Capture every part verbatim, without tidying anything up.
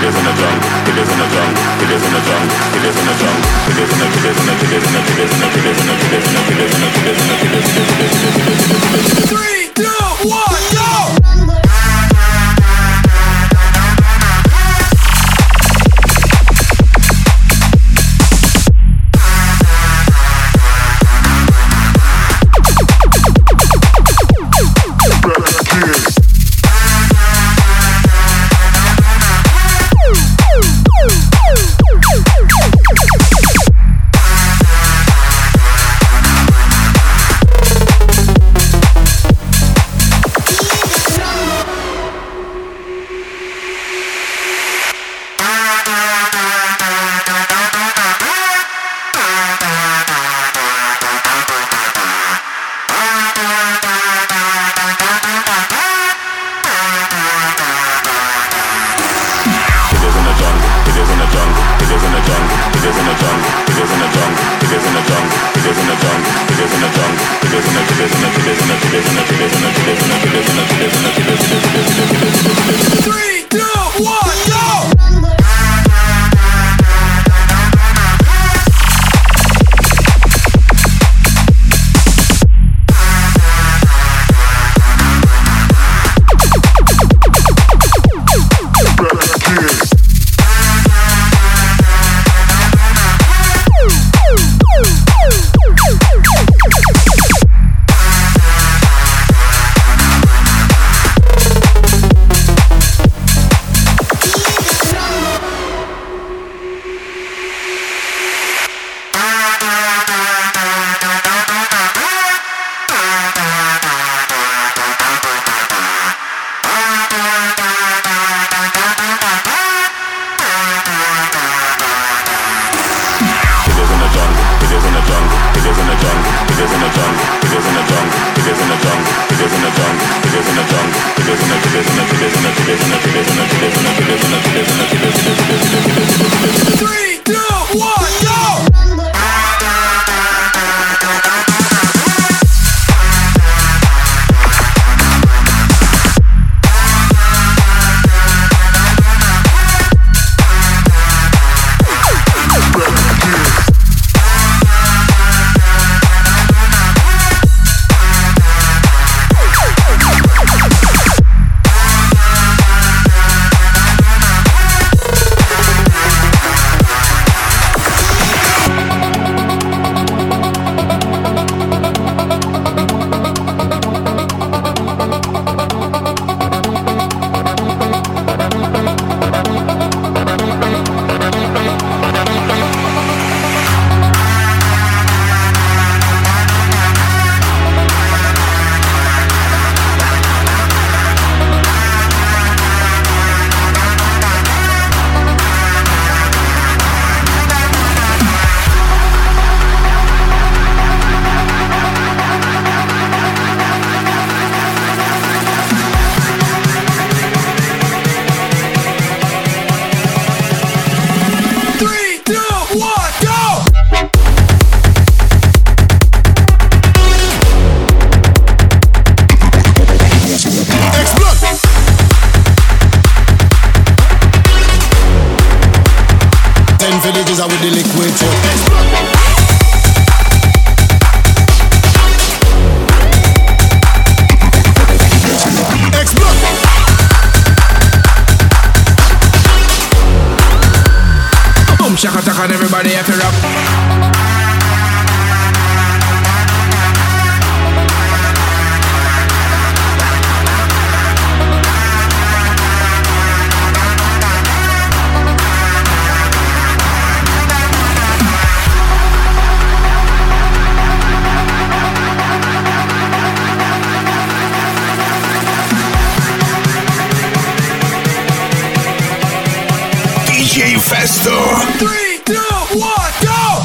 Festo. Three, two, one, go!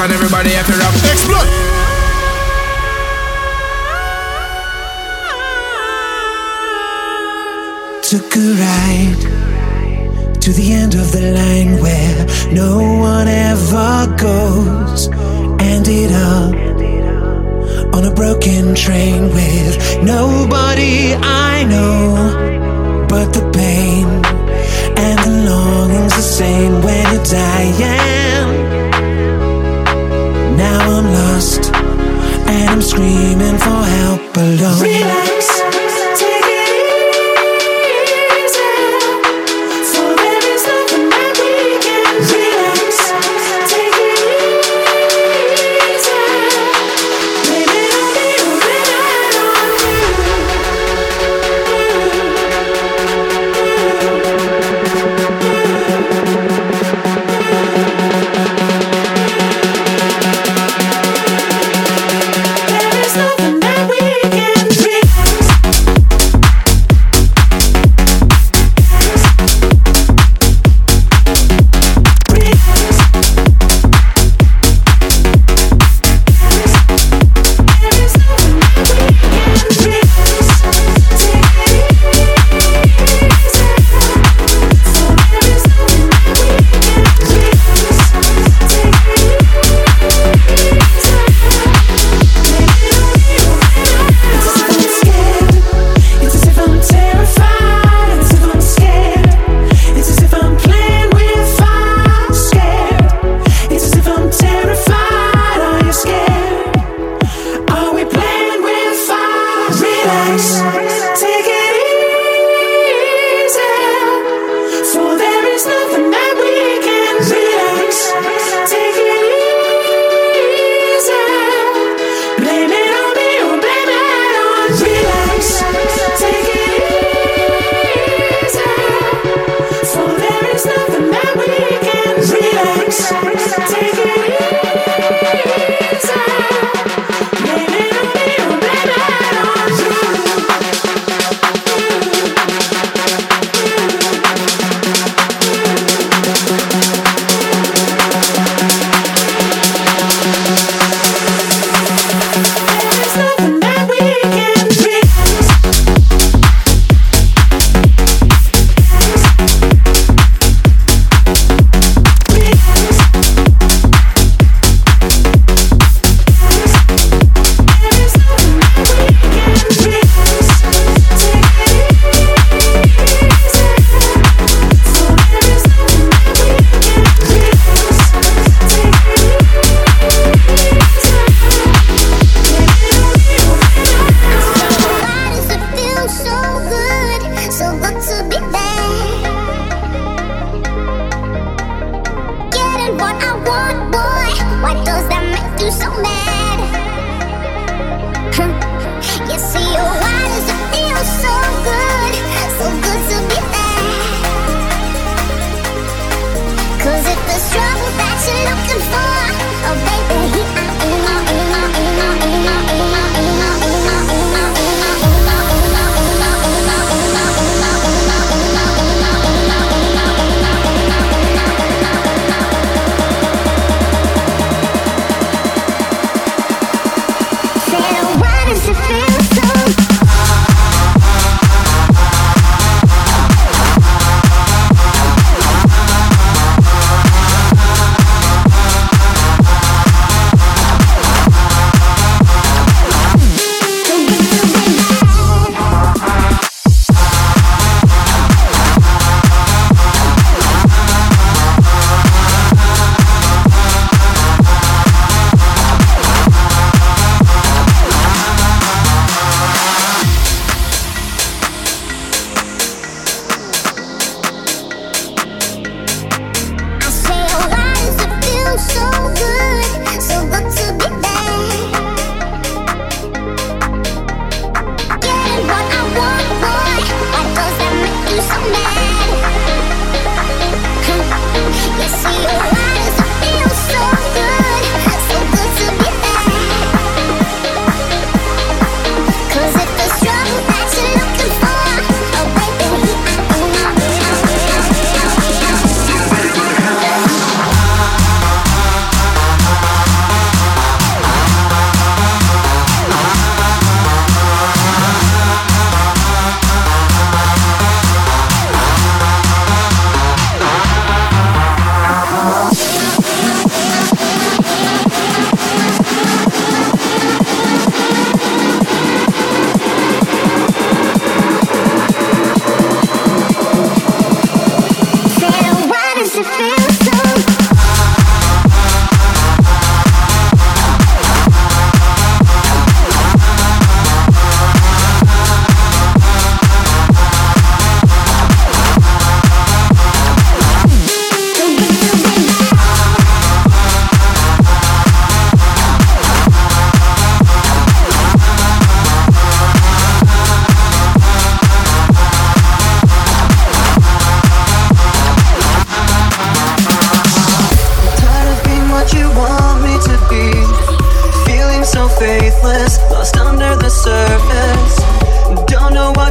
and everybody have to rock. Explode! Took a ride to the end of the line where no one ever goes. Ended up on a broken train with nobody I know. But the pain and the longing's the same when you're dying. Now I'm lost and I'm screaming for help alone. Relax.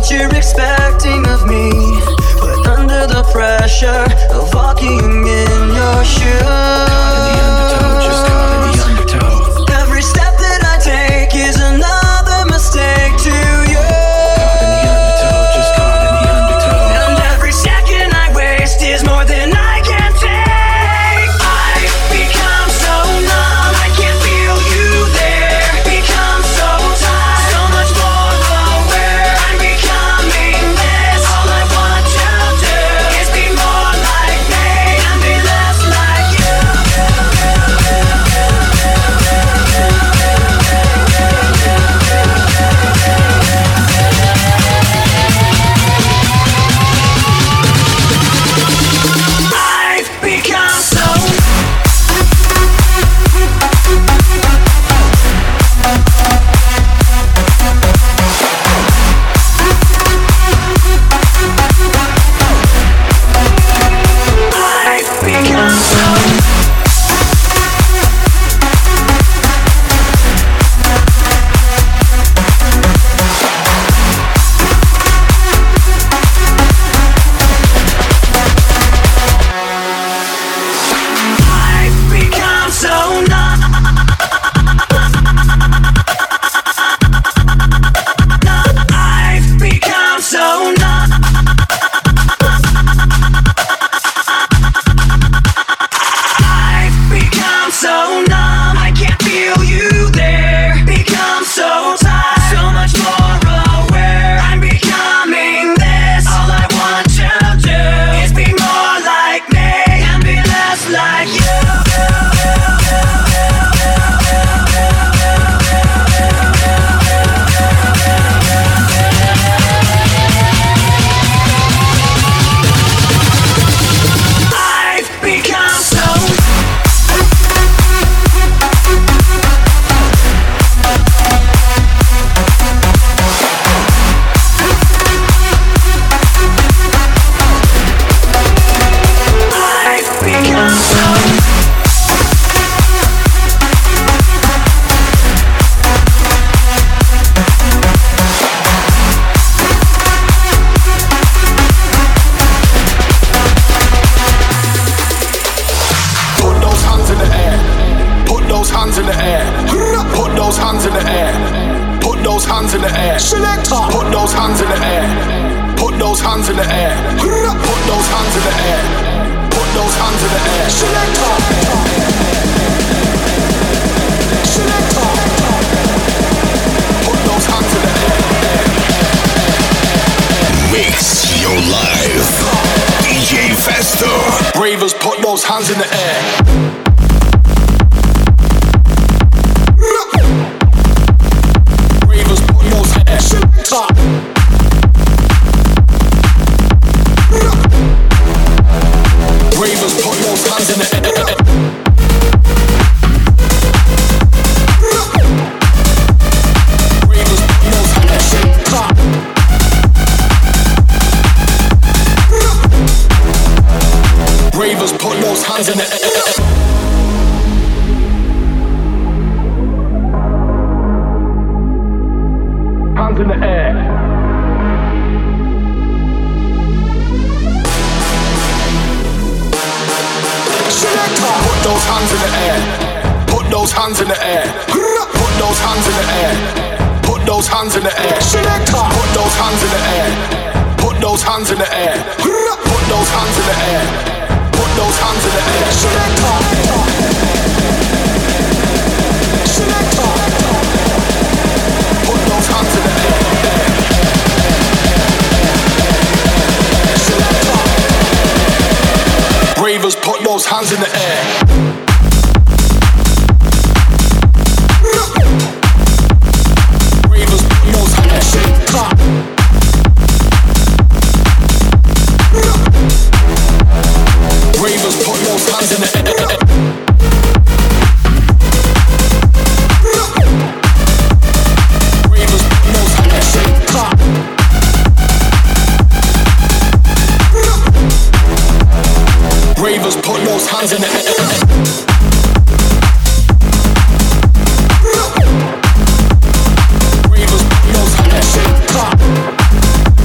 what you're expecting of me, but under the pressure of walking in your shoes. Caught in the undertow, just caught in the undertow. Every step that I take is another mistake to you. Caught in the undertow, just caught in the undertow. And every second I waste is more than I can take. I've become so numb, I can't feel you there. Become so tired, so much more aware. I'm becoming this. All I want to do is be more like me and be less like you. I've become so I've become so I've become so numb. I've become so numb. I've become so numb. I can't feel you there. Become so tired, so much more aware. I'm becoming this. All I want to do is be more like me and be less like you. I've become so I've become so Put those hands in the air. Put those hands in the air. Put those hands in the air. Put those hands in the air. Selector. Put those hands in the air. Put those hands in the air. Put those hands in the air. Put those hands in the air. Selector. Selector. Put those hands in the air. Mix your life. D J Festo. Ravers, put those hands in the air. Ravers, put those hands. Ravers, put those hands in the air. Ravers, put those hands. Ravers, put those hands in the air. Hands in the air. Selector. Put those hands in the air. Put those hands in the air. Put those hands in the air. Put those hands in the air. Selector. Put those hands in the air. Put those hands in the air. Put those hands in the air. Put those hands in the air. Selector. Selector. Put those hands in the air. Selector. Ravers, put those hands in the air. Ravers, put those hands in the air. Ravers, put those hands in the air. Ravers, put those hands in the air. Ravers, put those hands in the air. Ravers, put those hands in the air.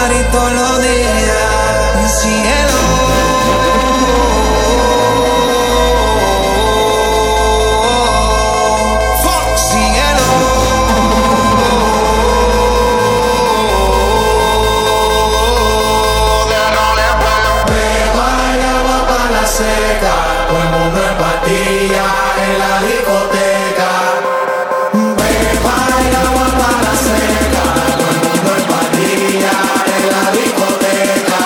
party todos los días. Y cielo. Todo el mundo en patilla en la discoteca. Beba y agua para la seca. Todo el mundo en patilla en la discoteca.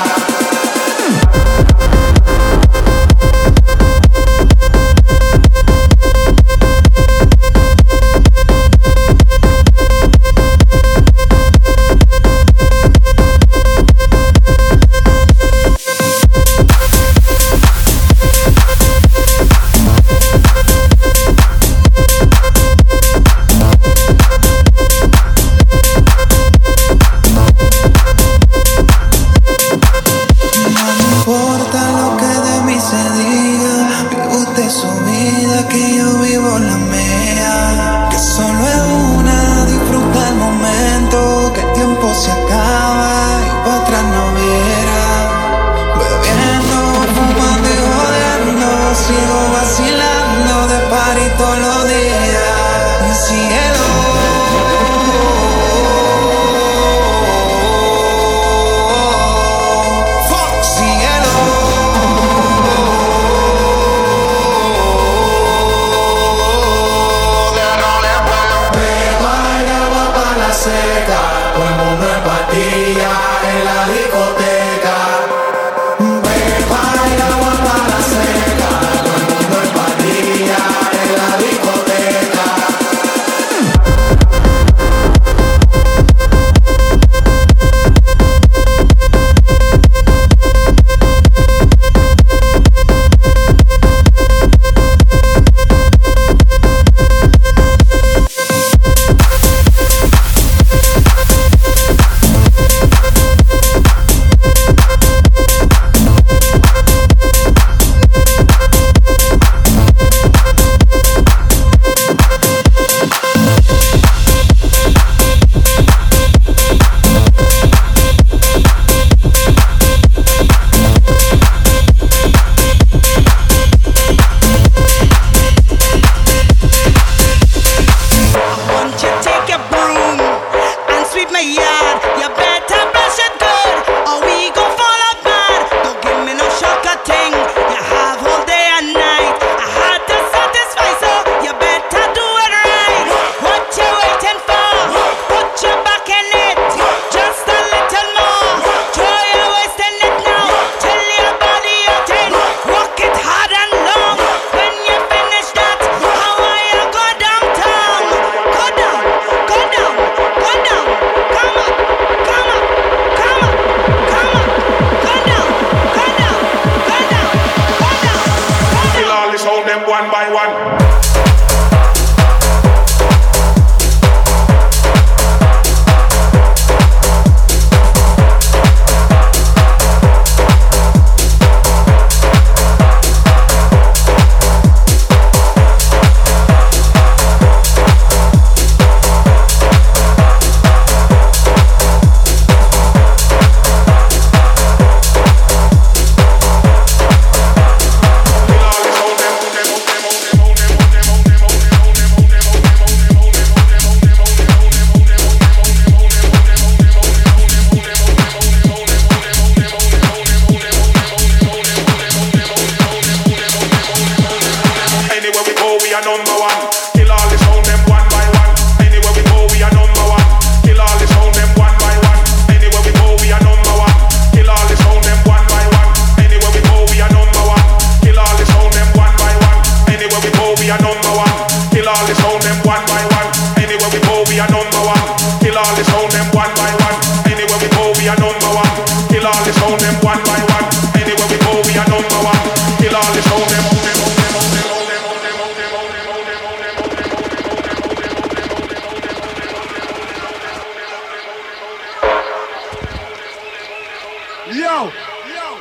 Yo, yo.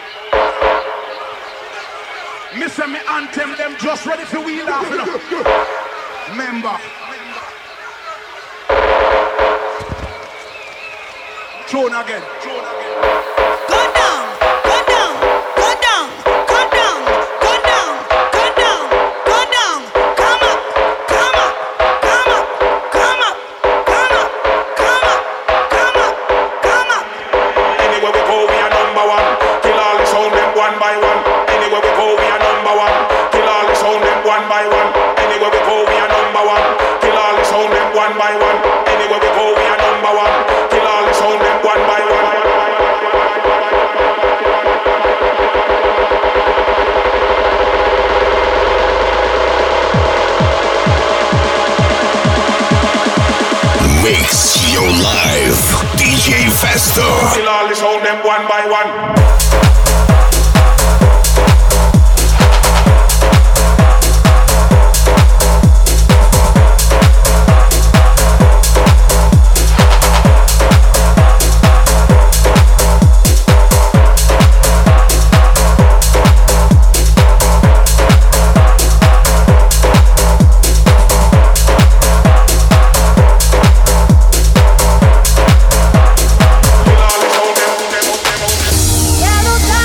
Me say me anthem them just ready for we laugh. Member. Tune again. Tune again. Ya no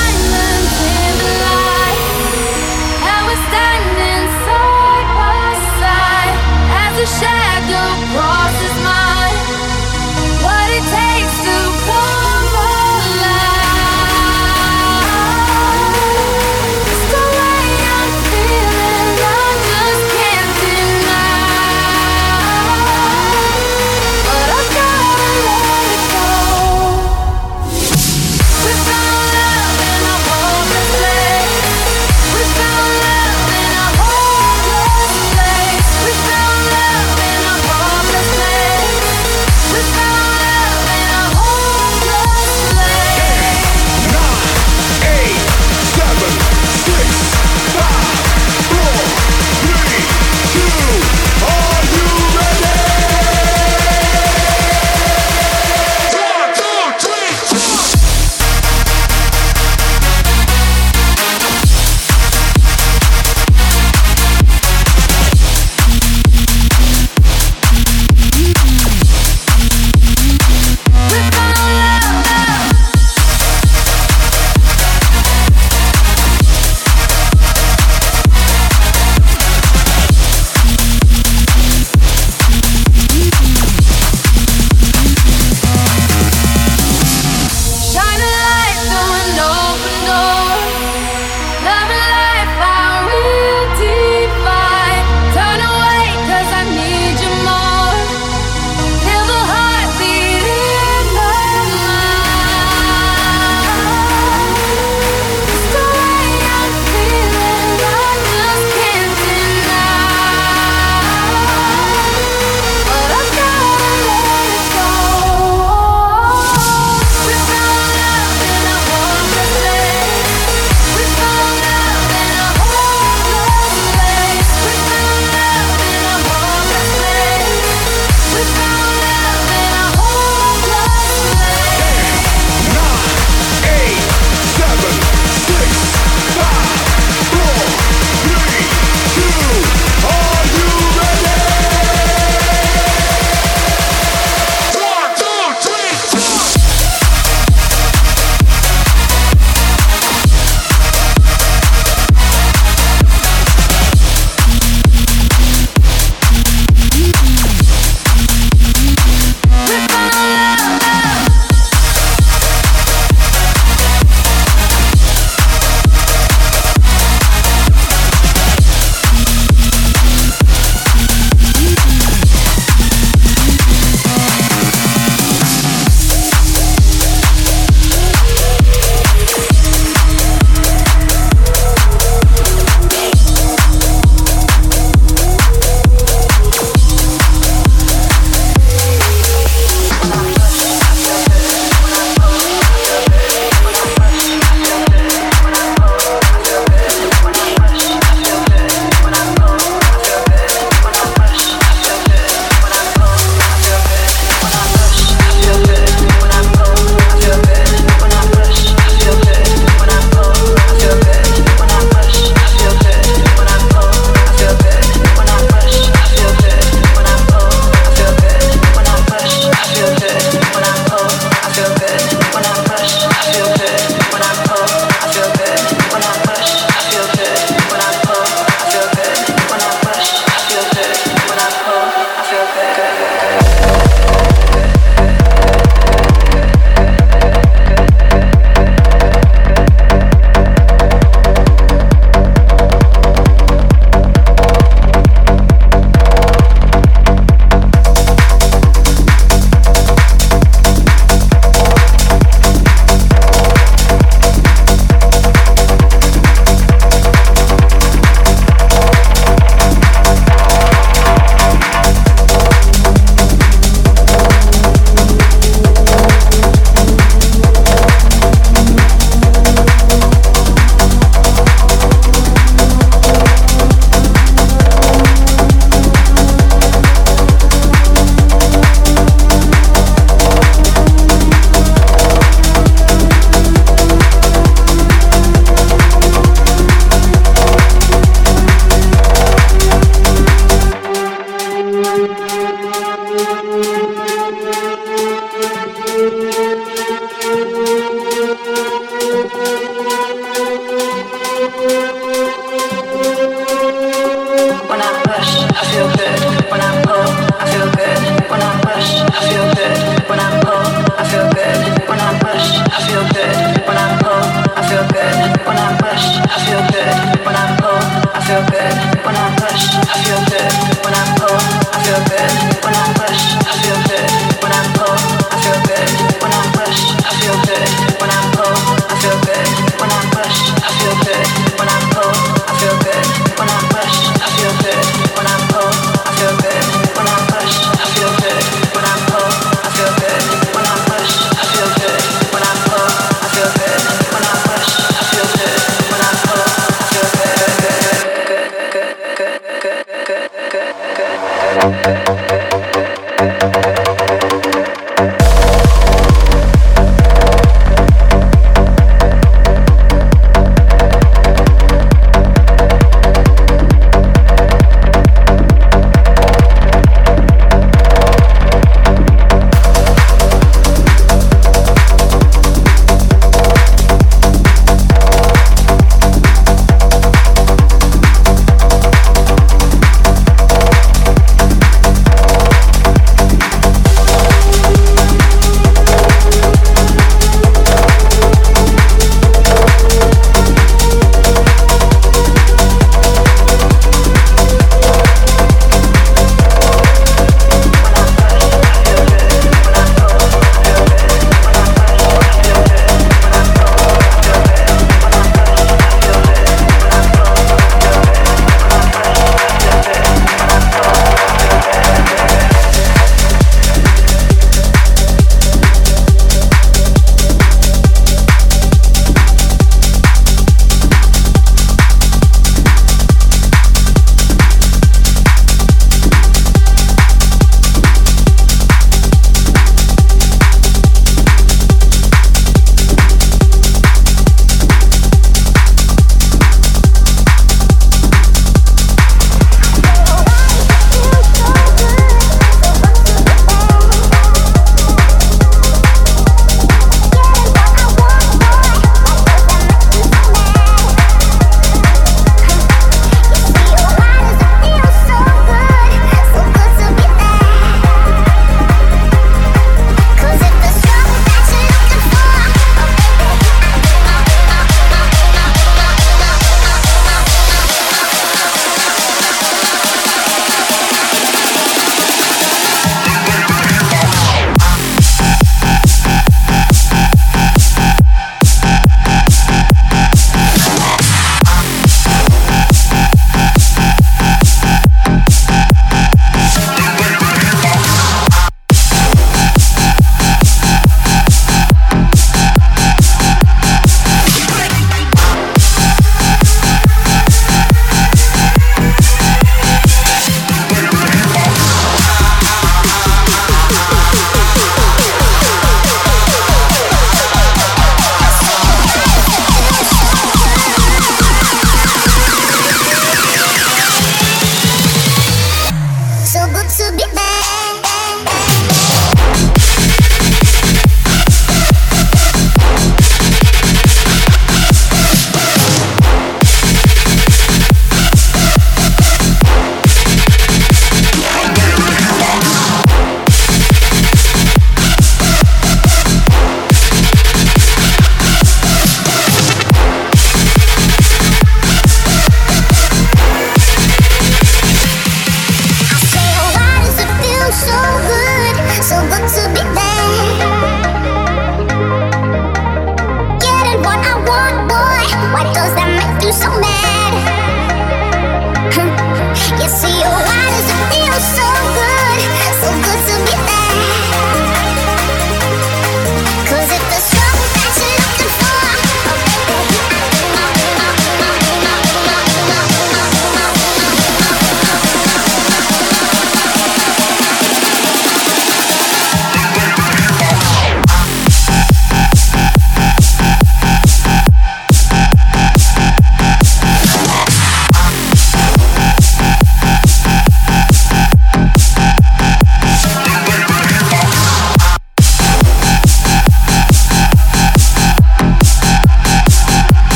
Good.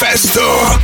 Manifesto.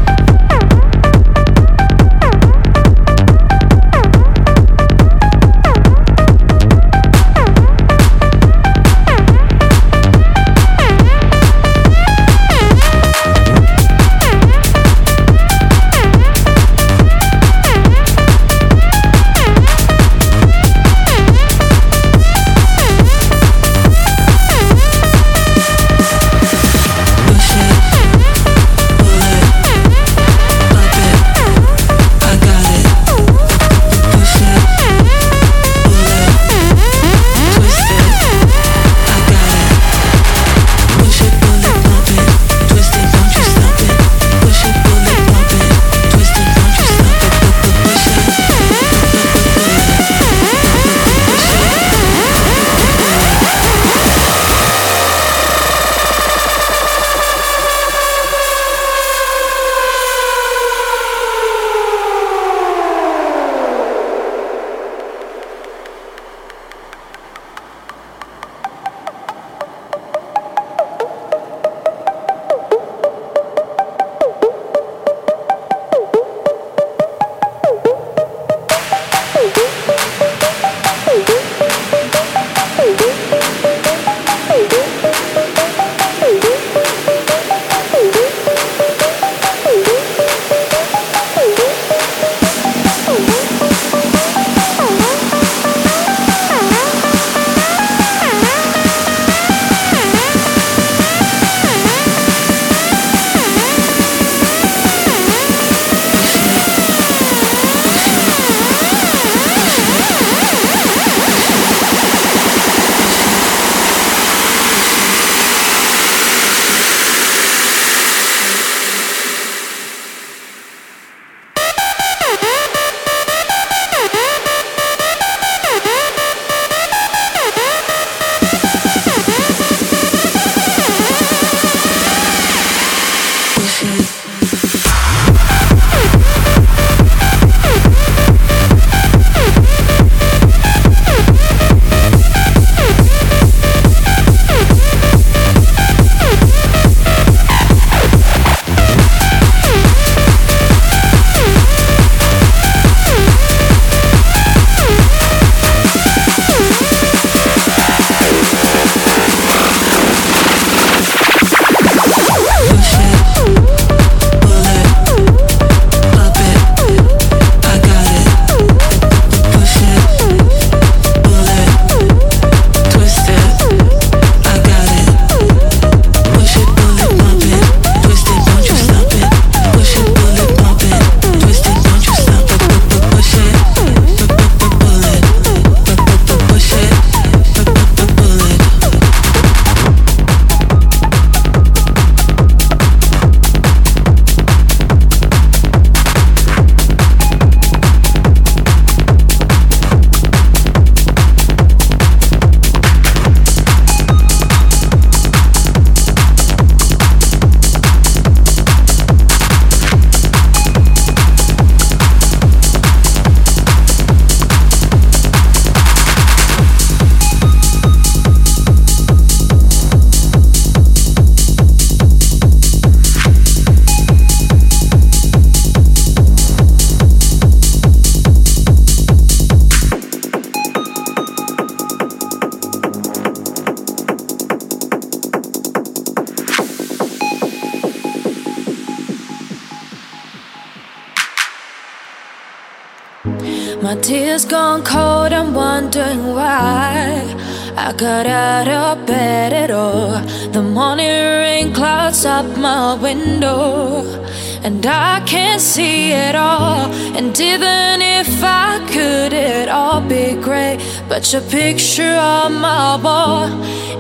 My tears gone cold, I'm wondering why I got out of bed at all. The morning rain clouds up my window, and I can't see it all. And even if I could, it'd all be great. But your picture on my wall,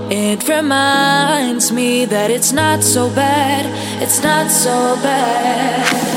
it reminds me that it's not so bad. It's not so bad.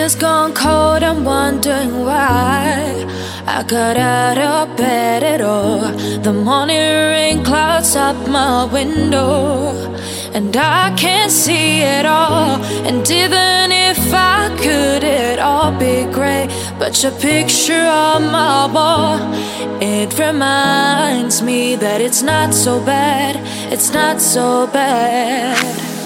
has gone cold, I'm wondering why I got out of bed at all. The morning rain clouds up my window, and I can't see it all. And even if I could, it'd all be great. But your picture on my wall, it reminds me that it's not so bad. It's not so bad.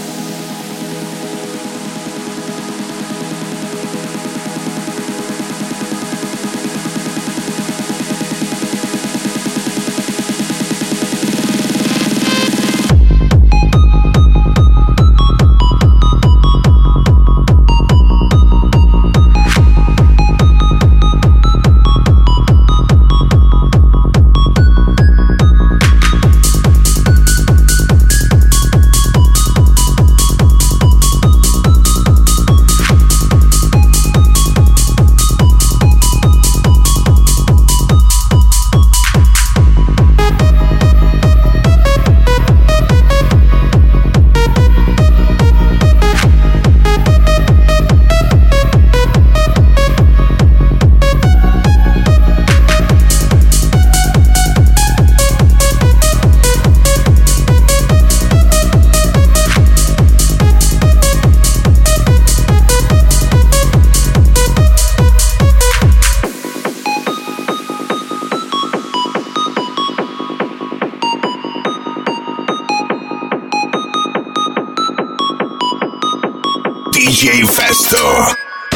D J Festo.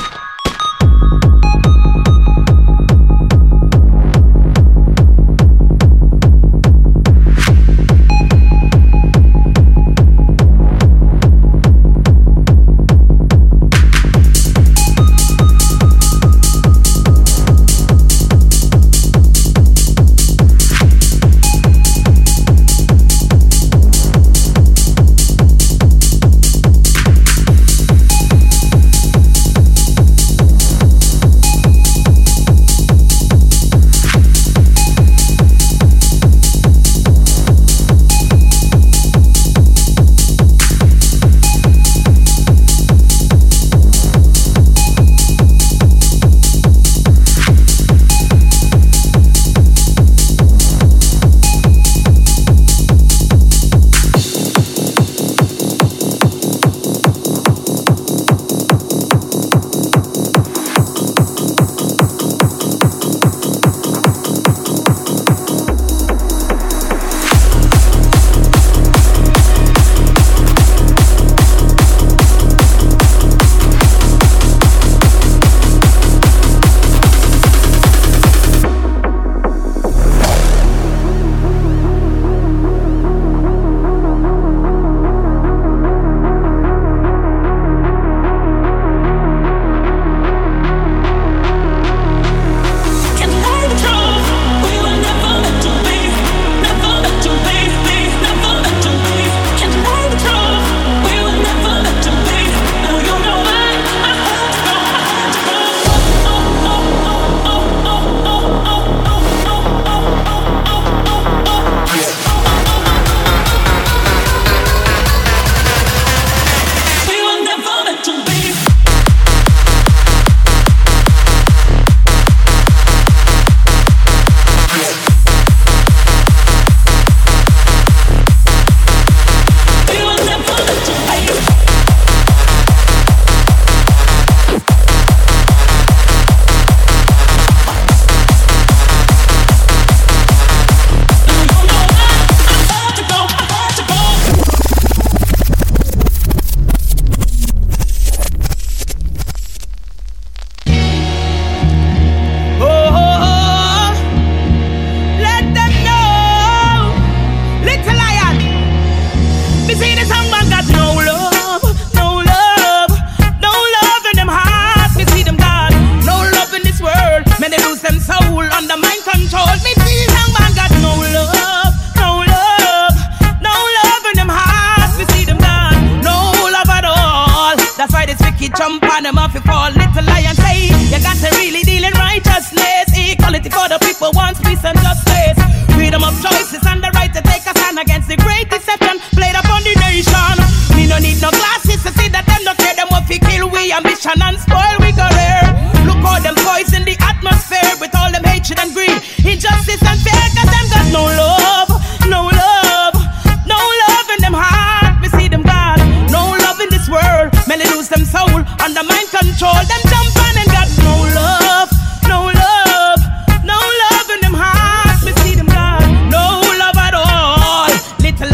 Jump on them off, you fall, little lion say you got to really deal in righteousness. Equality for the people, wants peace and justice. Freedom of choices and the right to take a stand against the great deception played upon the nation. We no need no glasses to see that them no care them what we kill, we ambition and spoil, we go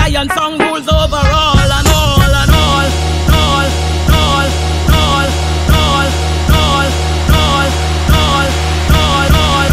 lion song rules over all and all and all, all, all, all, all, all, all, all, all, all,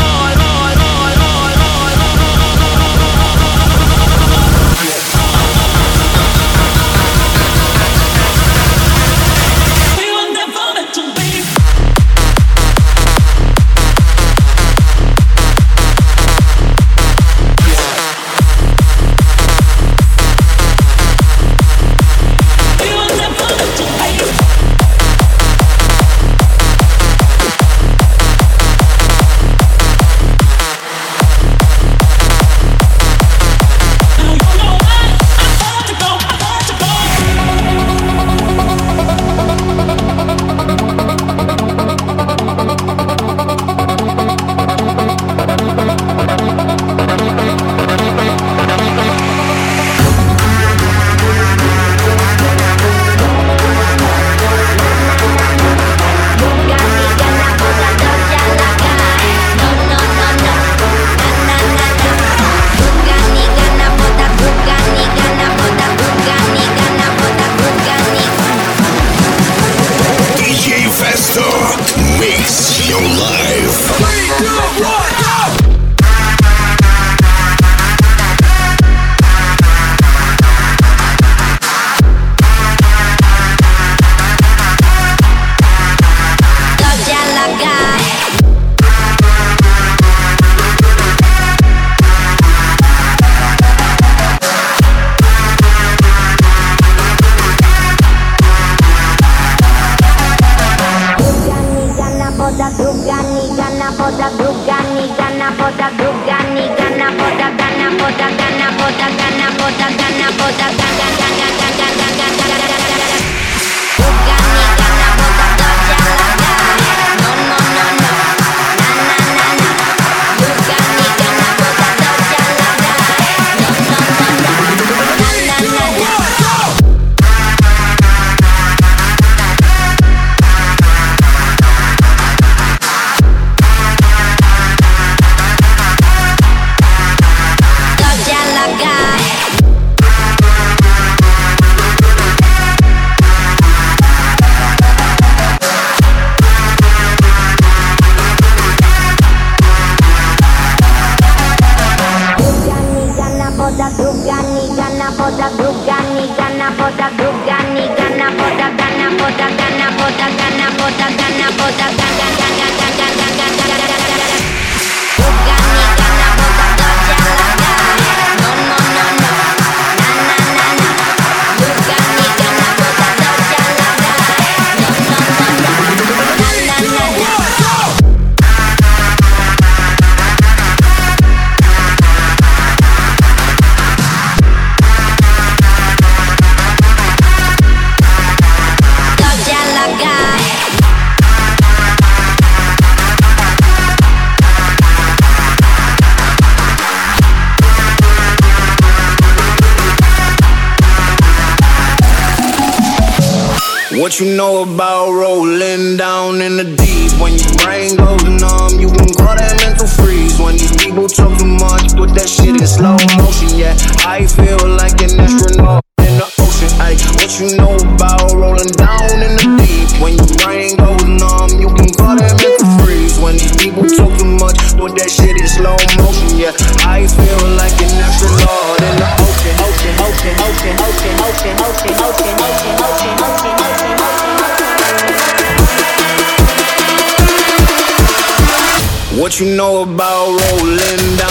What you know about rolling down in the deep? When your brain goes numb, you can call that mental freeze. When these people talk too much, put that shit in slow motion. Yeah, I feel like an astronaut in the ocean. Ay, what you know about rolling down in the deep? When your brain goes numb, you can call that mental freeze. When these people talk too much, put that shit in slow motion. Yeah, I feel like an astronaut in the ocean. Ocean, ocean, ocean, ocean, ocean, ocean, ocean, ocean, ocean, ocean, ocean. What you know about rolling down?